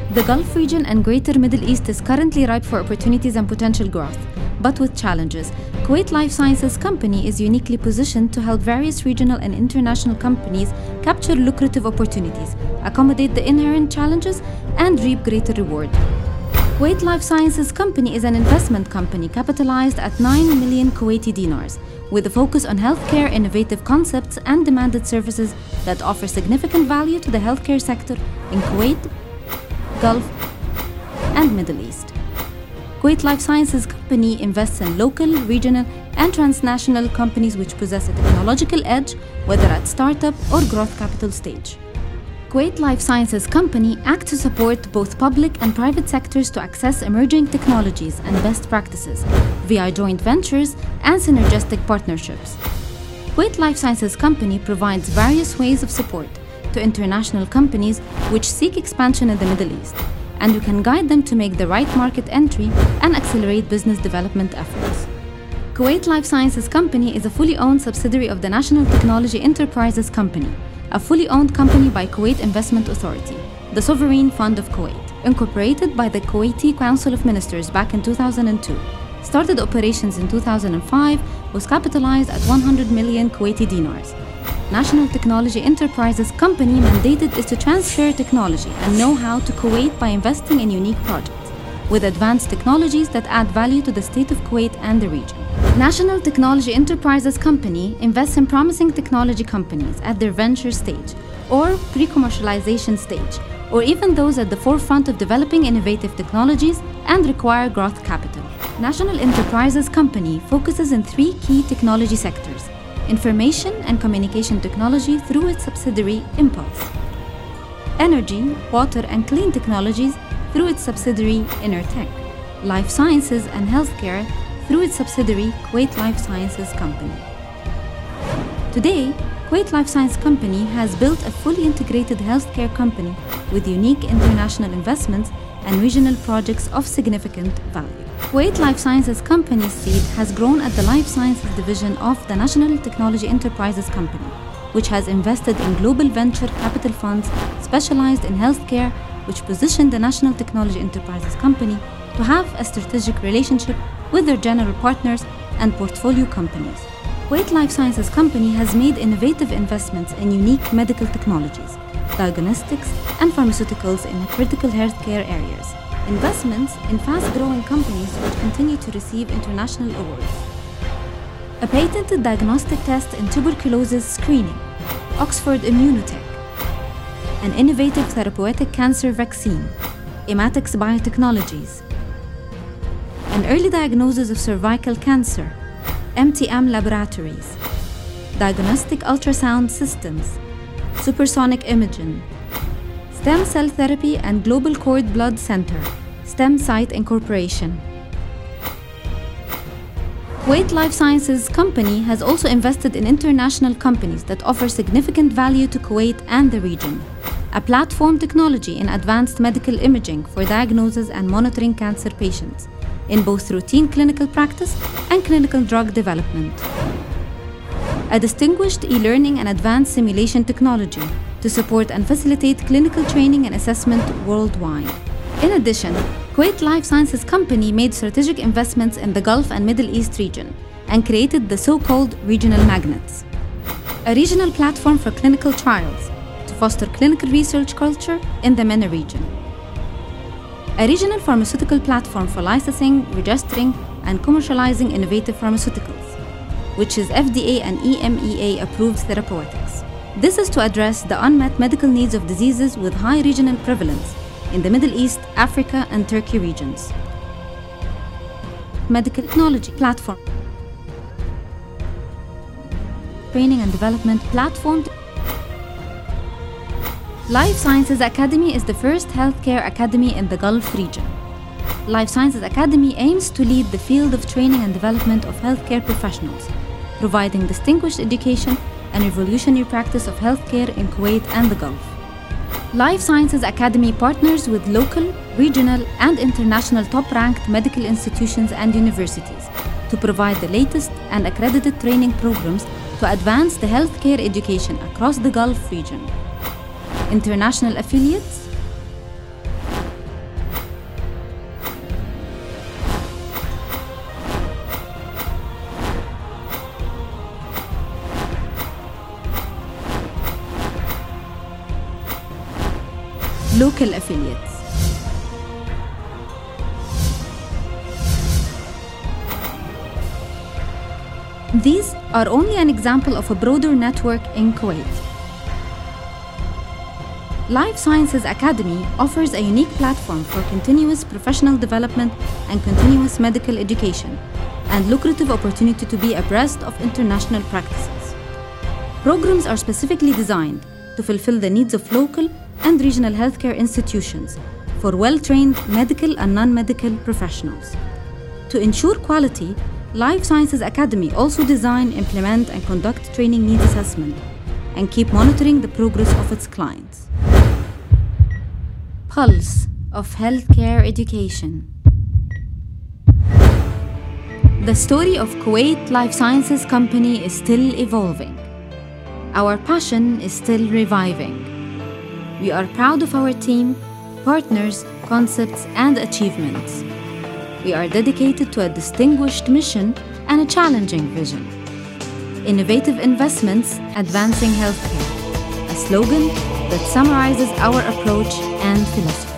The Gulf region and Greater Middle East is currently ripe for opportunities and potential growth, but with challenges. Kuwait Life Sciences Company is uniquely positioned to help various regional and international companies capture lucrative opportunities, accommodate the inherent challenges, and reap greater reward. Kuwait Life Sciences Company is an investment company capitalized at 9 million Kuwaiti dinars, with a focus on healthcare innovative concepts and demanded services that offer significant value to the healthcare sector in Kuwait, Gulf, and Middle East. Kuwait Life Sciences Company invests in local, regional, and transnational companies which possess a technological edge, whether at startup or growth capital stage. Kuwait Life Sciences Company acts to support both public and private sectors to access emerging technologies and best practices via joint ventures and synergistic partnerships. Kuwait Life Sciences Company provides various ways of support to international companies which seek expansion in the Middle East, and you can guide them to make the right market entry and accelerate business development efforts. Kuwait Life Sciences Company is a fully owned subsidiary of the National Technology Enterprises Company, a fully owned company by Kuwait Investment Authority, the sovereign fund of Kuwait, incorporated by the Kuwaiti Council of Ministers back in 2002, started operations in 2005, was capitalized at 100 million Kuwaiti dinars. National Technology Enterprises Company mandated is to transfer technology and know-how to Kuwait by investing in unique projects with advanced technologies that add value to the state of Kuwait and the region. National Technology Enterprises Company invests in promising technology companies at their venture stage or pre-commercialization stage, or even those at the forefront of developing innovative technologies and require growth capital. National Enterprises Company focuses in 3 key technology sectors: information and communication technology through its subsidiary Impulse, energy, water and clean technologies through its subsidiary Intertech, life sciences and healthcare through its subsidiary Kuwait Life Sciences Company. Today, Kuwait Life Sciences Company has built a fully integrated healthcare company with unique international investments and regional projects of significant value. Kuwait Life Sciences Company's seed has grown at the Life Sciences division of the National Technology Enterprises Company, which has invested in global venture capital funds specialized in healthcare, which position the National Technology Enterprises Company to have a strategic relationship with their general partners and portfolio companies. Kuwait Life Sciences Company has made innovative investments in unique medical technologies, diagnostics, and pharmaceuticals in critical healthcare areas. Investments in fast-growing companies which continue to receive international awards. A patented diagnostic test in tuberculosis screening, Oxford Immunotech. An innovative therapeutic cancer vaccine, Imatex Biotechnologies. An early diagnosis of cervical cancer, MTM Laboratories. Diagnostic ultrasound systems, Supersonic Imaging. Stem Cell Therapy and Global Cord Blood Center, StemSite Incorporation. Kuwait Life Sciences Company has also invested in international companies that offer significant value to Kuwait and the region. A platform technology in advanced medical imaging for diagnosis and monitoring cancer patients in both routine clinical practice and clinical drug development. A distinguished e-learning and advanced simulation technology to support and facilitate clinical training and assessment worldwide. In addition, Kuwait Life Sciences Company made strategic investments in the Gulf and Middle East region and created the so-called regional magnets, a regional platform for clinical trials to foster clinical research culture in the MENA region, a regional pharmaceutical platform for licensing, registering, and commercializing innovative pharmaceuticals, which is FDA and EMEA approved therapeutics. This is to address the unmet medical needs of diseases with high regional prevalence in the Middle East, Africa, and Turkey regions. Medical technology platform. Training and development platform. Life Sciences Academy is the first healthcare academy in the Gulf region. Life Sciences Academy aims to lead the field of training and development of healthcare professionals, providing distinguished education and revolutionary practice of healthcare in Kuwait and the Gulf. Life Sciences Academy partners with local, regional, and international top-ranked medical institutions and universities to provide the latest and accredited training programs to advance the healthcare education across the Gulf region. International affiliates. local affiliates. These are only an example of a broader network in Kuwait. Life Sciences Academy offers a unique platform for continuous professional development and continuous medical education, and lucrative opportunity to be abreast of international practices. Programs are specifically designed to fulfill the needs of local and regional healthcare institutions for well-trained medical and non-medical professionals. To ensure quality, Life Sciences Academy also design, implement, and conduct training needs assessment and keep monitoring the progress of its clients. Pulse of Healthcare Education. The story of Kuwait Life Sciences Company is still evolving. Our passion is still reviving. We are proud of our team, partners, concepts, and achievements. We are dedicated to a distinguished mission and a challenging vision. Innovative investments advancing healthcare, a slogan that summarizes our approach and philosophy.